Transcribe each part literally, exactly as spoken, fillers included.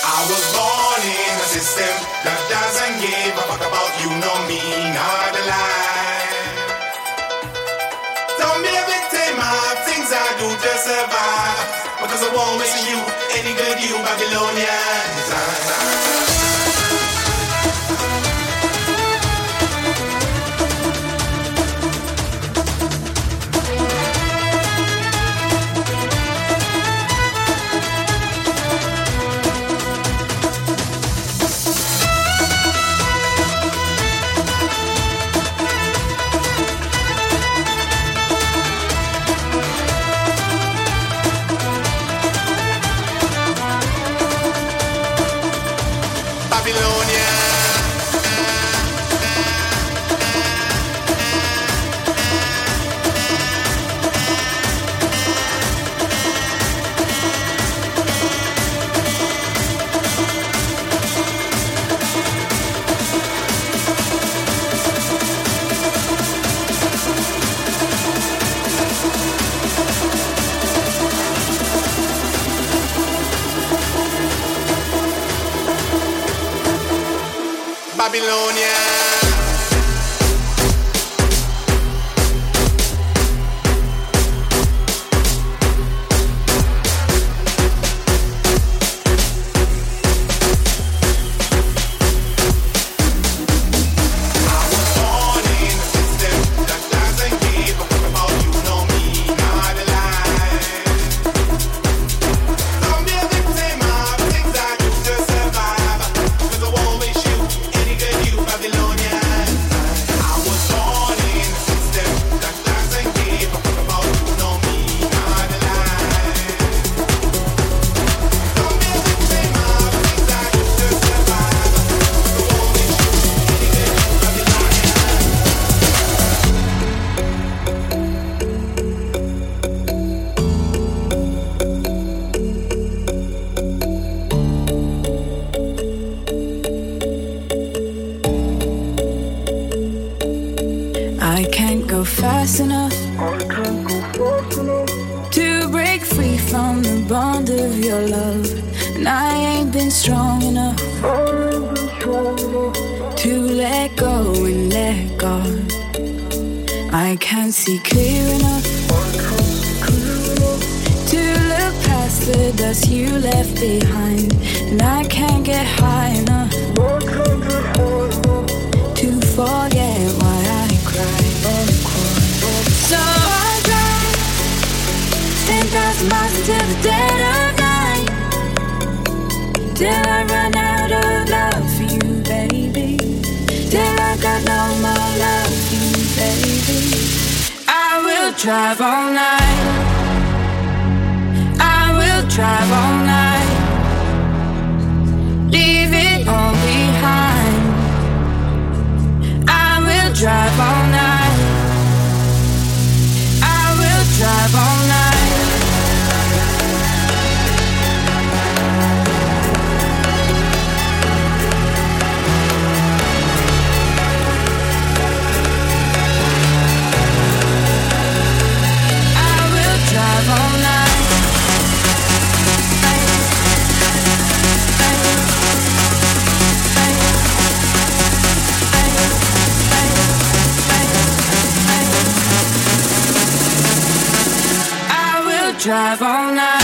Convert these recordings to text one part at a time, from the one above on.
I was born in a system that doesn't give a fuck about you, no me, not a lie. Don't be a victim of things I do to survive, because I won't miss you, any good you Babylonians. Babylonia. Fast enough to break free from the bond of your love, and I ain't been strong enough to let go and let God. I can't see clear enough to look past the dust you left behind, and I can't get high enough to forget why I cried. So I drive ten thousand miles until the dead of night, till I run out of love for you, baby, till I got no more love for you, baby. I will drive all night, I will drive all night, leave it all behind. I will drive all night, drive all night. I will drive all night. Drive all night.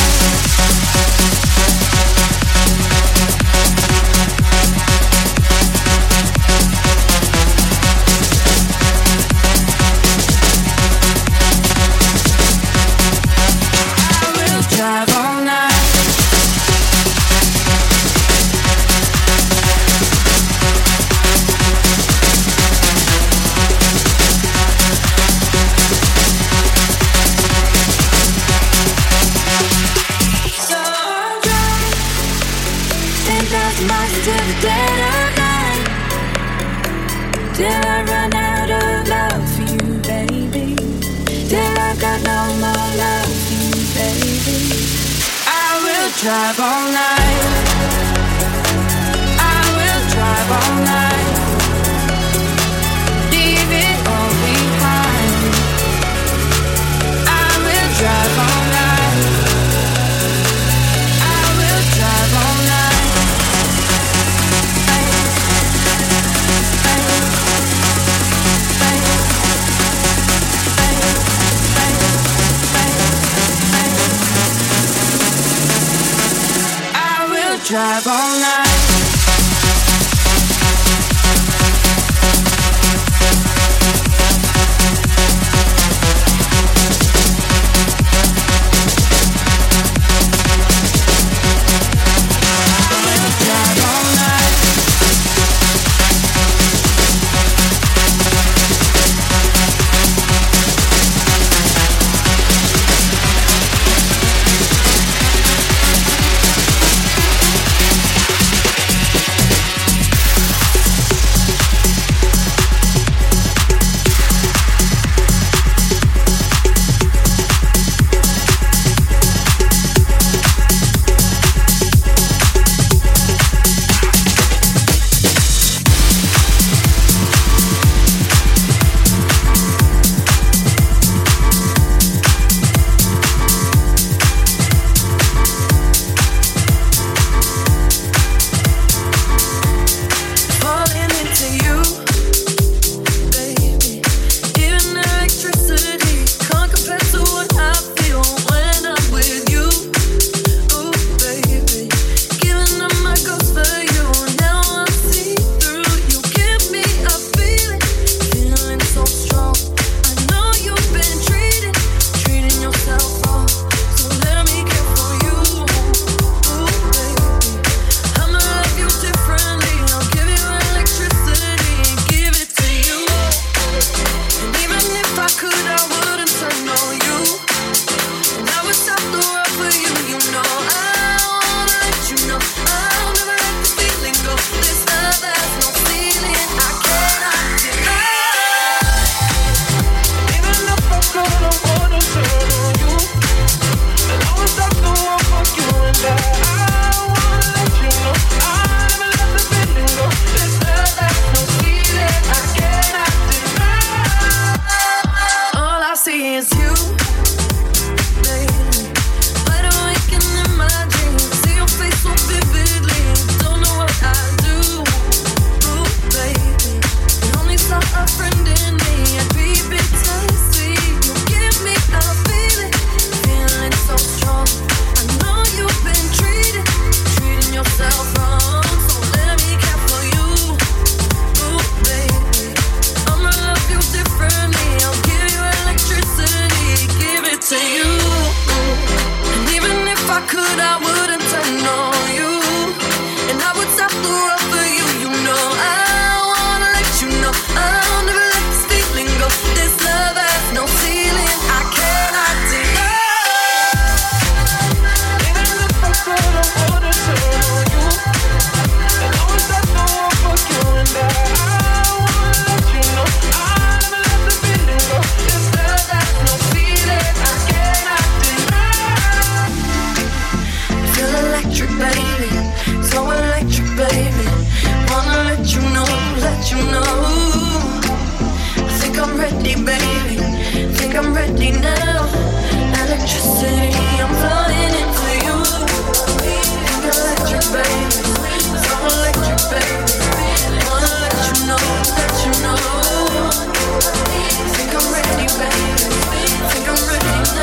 I will drive all night. Till the dead of night, till I run out of love for you, baby, till I got no more love for you, baby. I will drive all night, I will drive all night, leave it all behind. I will drive all night, I will drive all night. drive all night.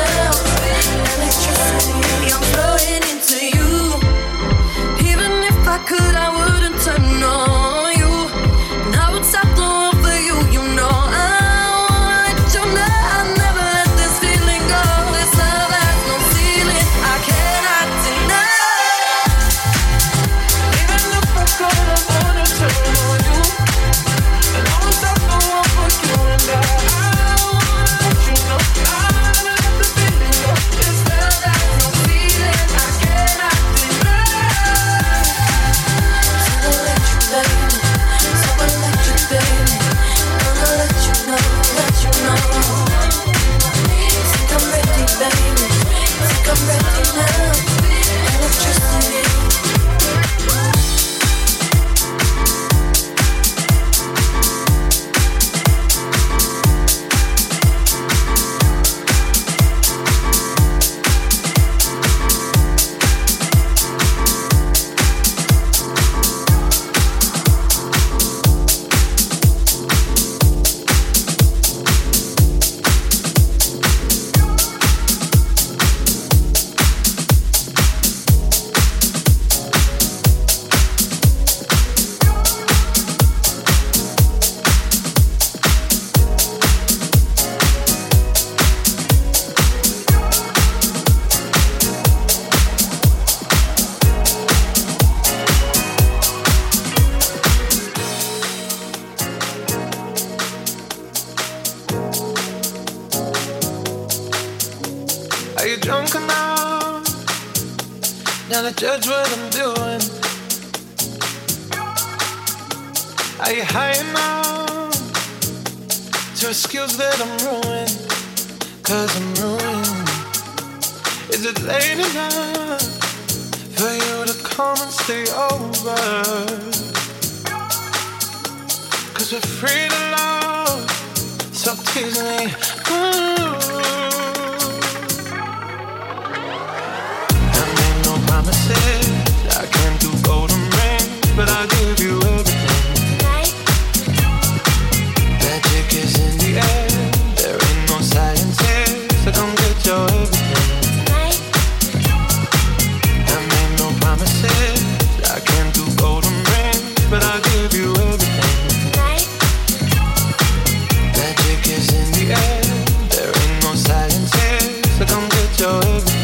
Even if trying to judge what I'm doing. Are you high enough to excuse that I'm ruined? Cause I'm ruined. Is it late enough for you to come and stay over? Cause we're free to love, so tease me. Ooh. I made no promises, I can't do golden rings, but I'll give you everything. Magic is in the air, there ain't no science here, so come get your everything. I made no promises, I can't do golden rings, but I'll give you everything. Magic is in the air, there ain't no science here, so come get your everything.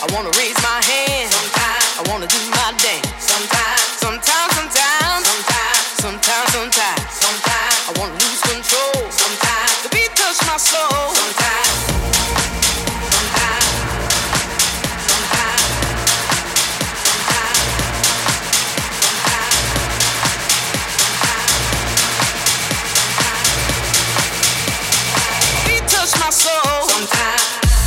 wanna raise my hand. Sometimes I wanna do my dance. Sometimes, sometimes, sometimes, sometimes, sometimes, sometimes, sometimes I wanna lose control. Sometimes the beat touch my soul. Sometimes, sometimes, sometimes, sometimes, sometimes, the beat touch my soul. Sometimes.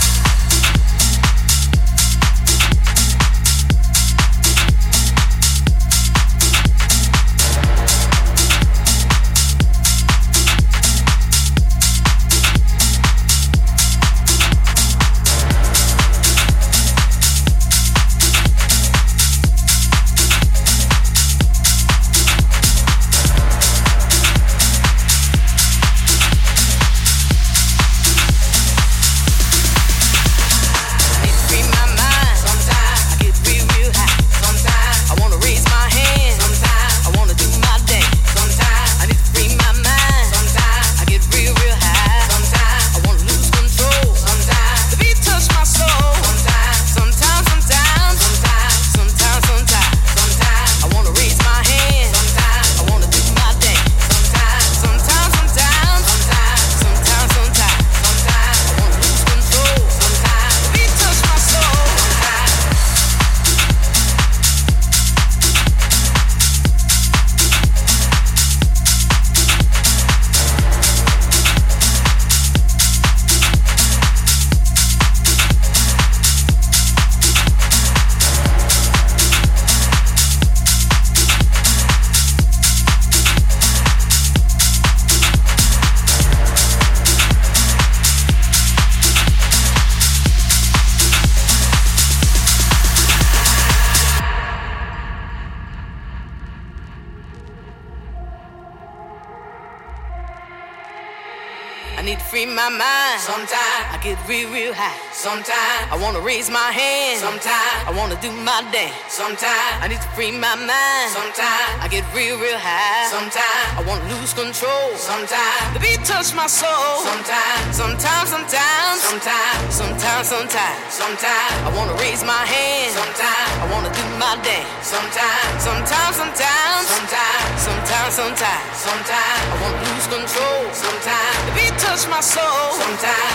I need to free my mind. Sometimes I get real, real high. Sometimes I wanna raise my hand. Sometimes I wanna do my dance. Sometimes I need to free my mind. Sometimes I get real, real high. Sometimes I wanna lose control. Sometimes the beat touch my soul. Sometimes, sometimes, sometimes, sometimes, sometimes, sometimes, sometimes I wanna raise my hand. Sometimes I wanna do my dance. Sometimes, sometimes, sometimes, sometimes, sometimes, sometimes, sometimes I wanna lose control. Sometimes the beat touch my soul. Sometimes,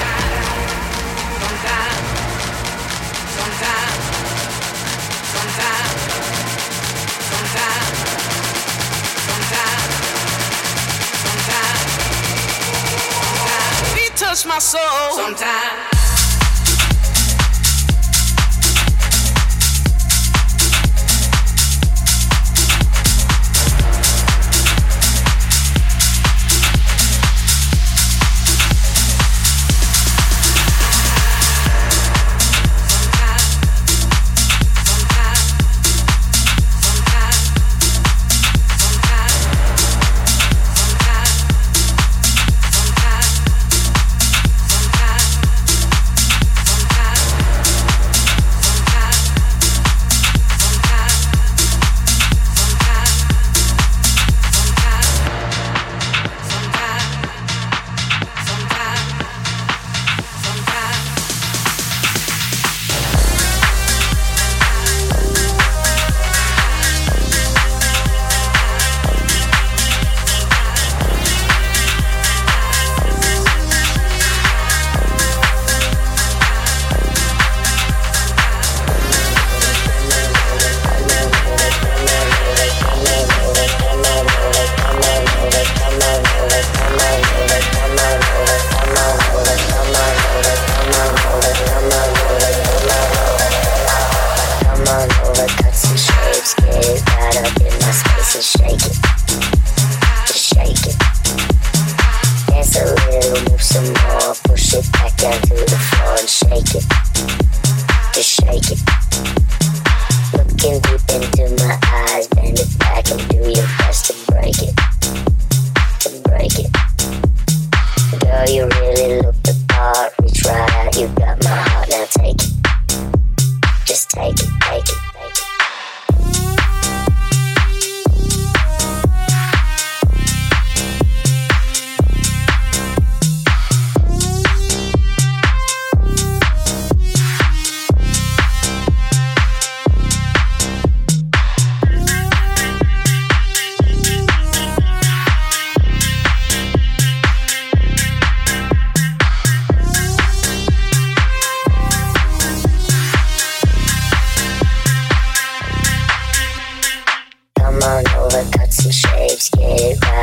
sometimes, sometimes, sometimes, sometimes, sometimes, sometimes, sometimes, the beat touch my soul. Sometimes.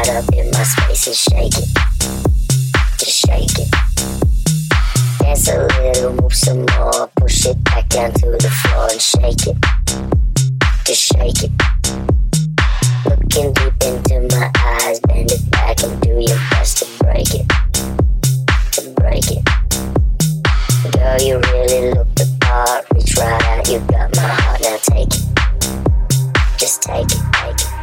right up in my space and shake it. Just shake it. Dance a little, move some more. Push it back down to the floor and shake it. Just shake it. Looking deep into my eyes, bend it back and do your best to break it. To break it. Girl, you really look the part. Reach right out, you got my heart, now take it. Just take it, take it.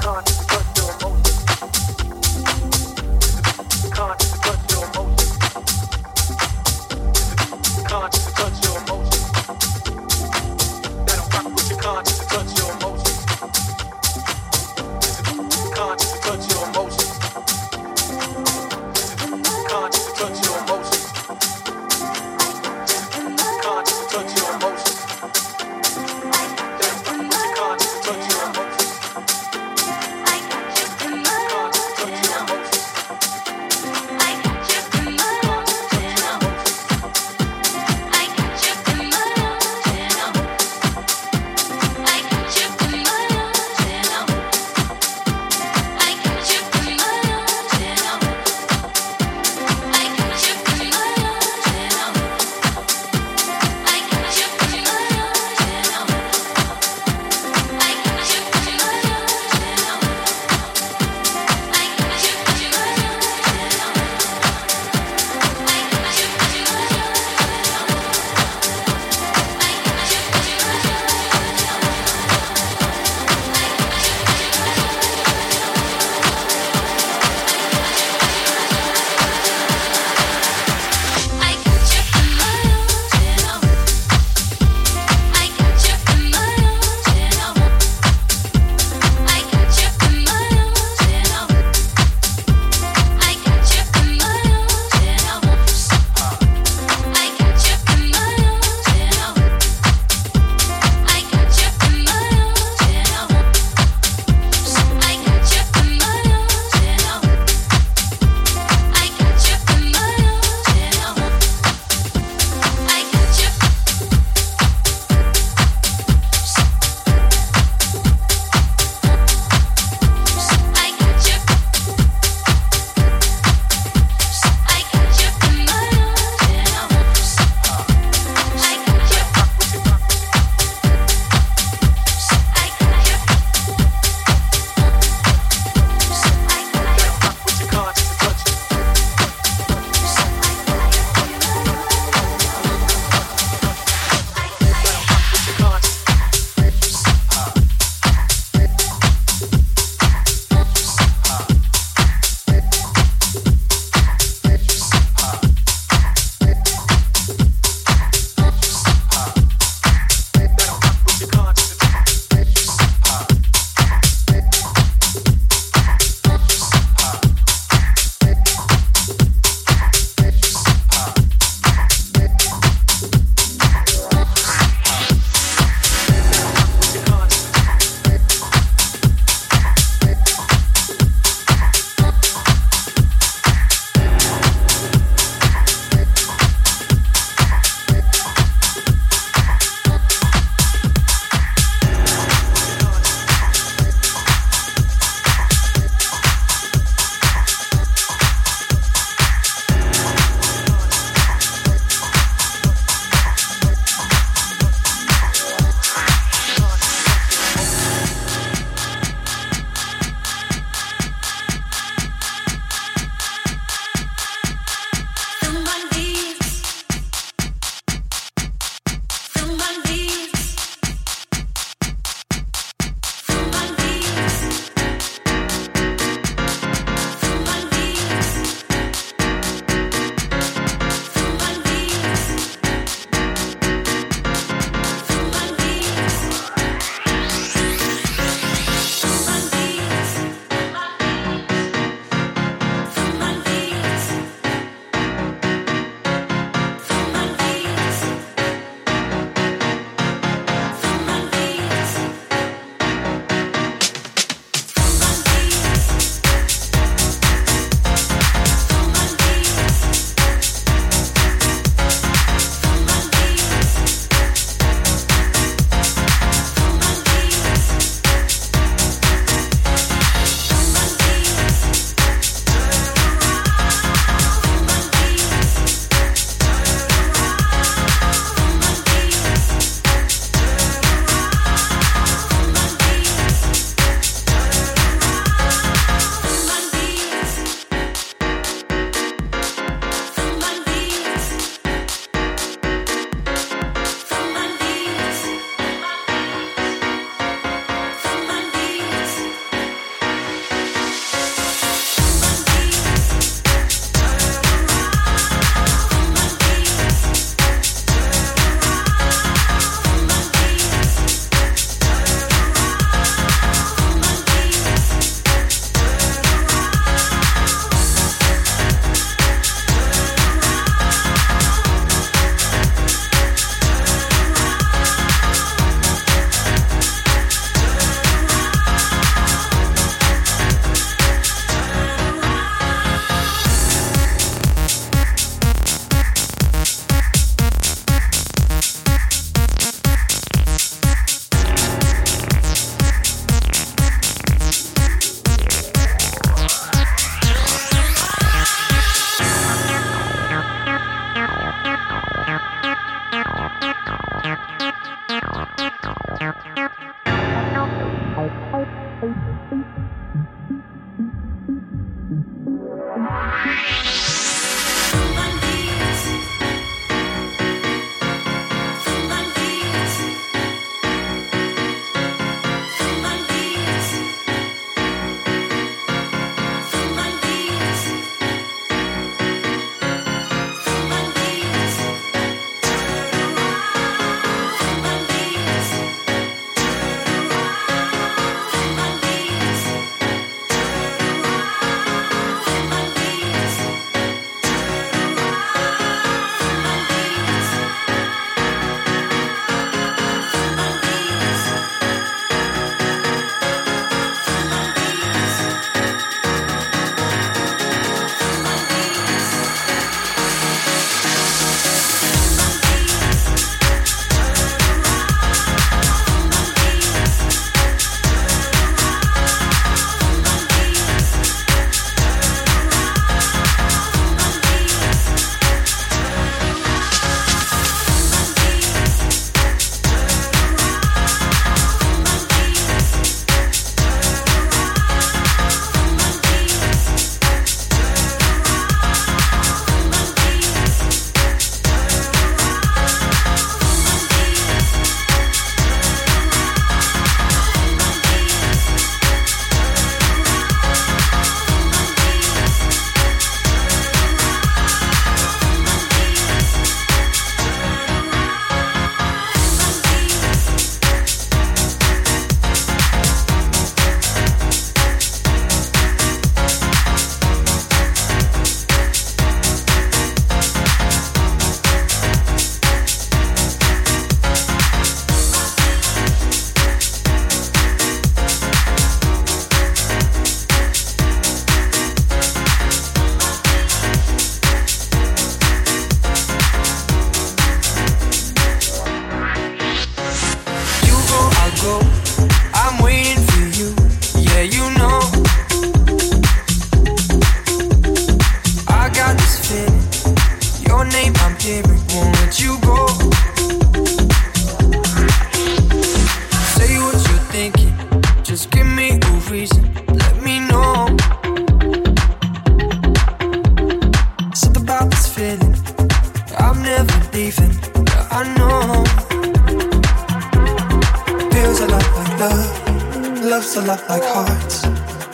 Touch your emotions.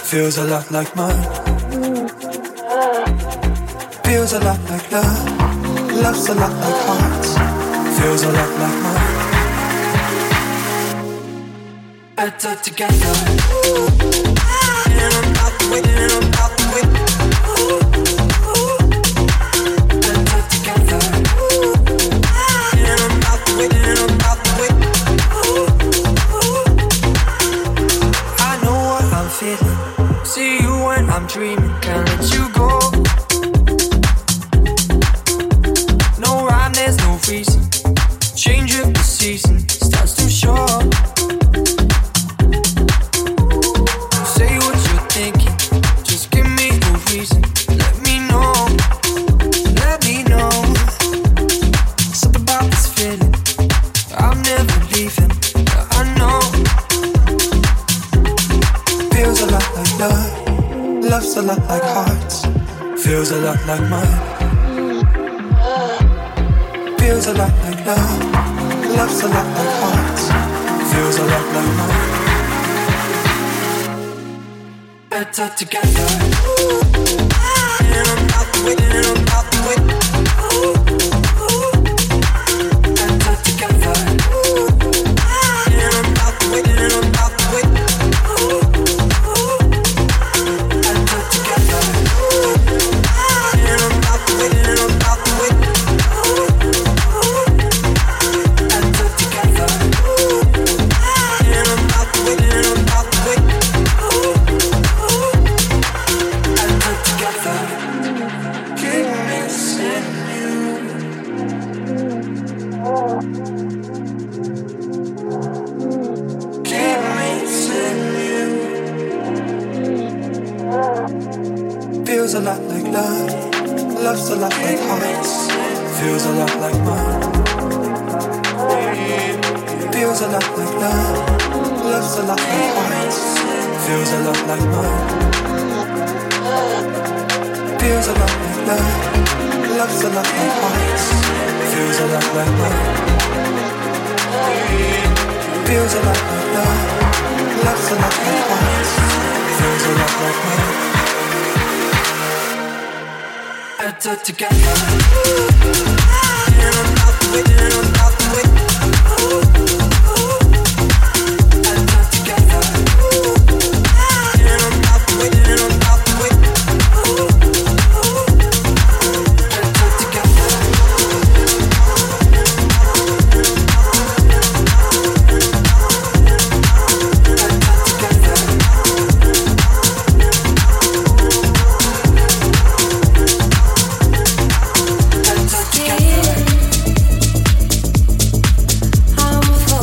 feels a lot like mine. Feels a lot like love, love's a lot like hearts, feels a lot like mine. Better together. And I'm not the way, and I'm not the way. Better together. And I'm not the way, and I'm not the way. I know what I'm feeling. See you when I'm dreaming. Can't let you go. No rhyme, there's no reason. Change of the season starts to show. Say what you're thinking. Just give me a reason. Let me know. Let me know. Something about this feeling. I'm never leaving. I know. Feels a lot like love. Love's a lot like hearts. Feels a lot like mine. Feels a lot like love. Love's a lot like hearts. Feels a lot like mine. Better together. And I'm not the way, and I'm not the way. Better together. And I'm not the way, and I'm not the way. Better together. And I'm not the way, and I'm not the way. Better together. And I'm not the way, and I'm not the way. Better together. Keep missing you. Keep missing you. Feels a lot like love. Love's a lot like hearts. Feels a lot like mine. Feels a lot like love. Love's a lot like hearts. Feels a lot like mine. Feels a lot like love. Love's a lot like hearts. Feels a lot like mine. Feels a lot like love. Love's a lot like hearts. Feels a lot like mine. Better together. And I'm not the way, and I'm not the way. Better together. And I'm not the way, and I'm not the way. Better together. Better together. I'm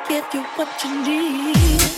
give you what you need.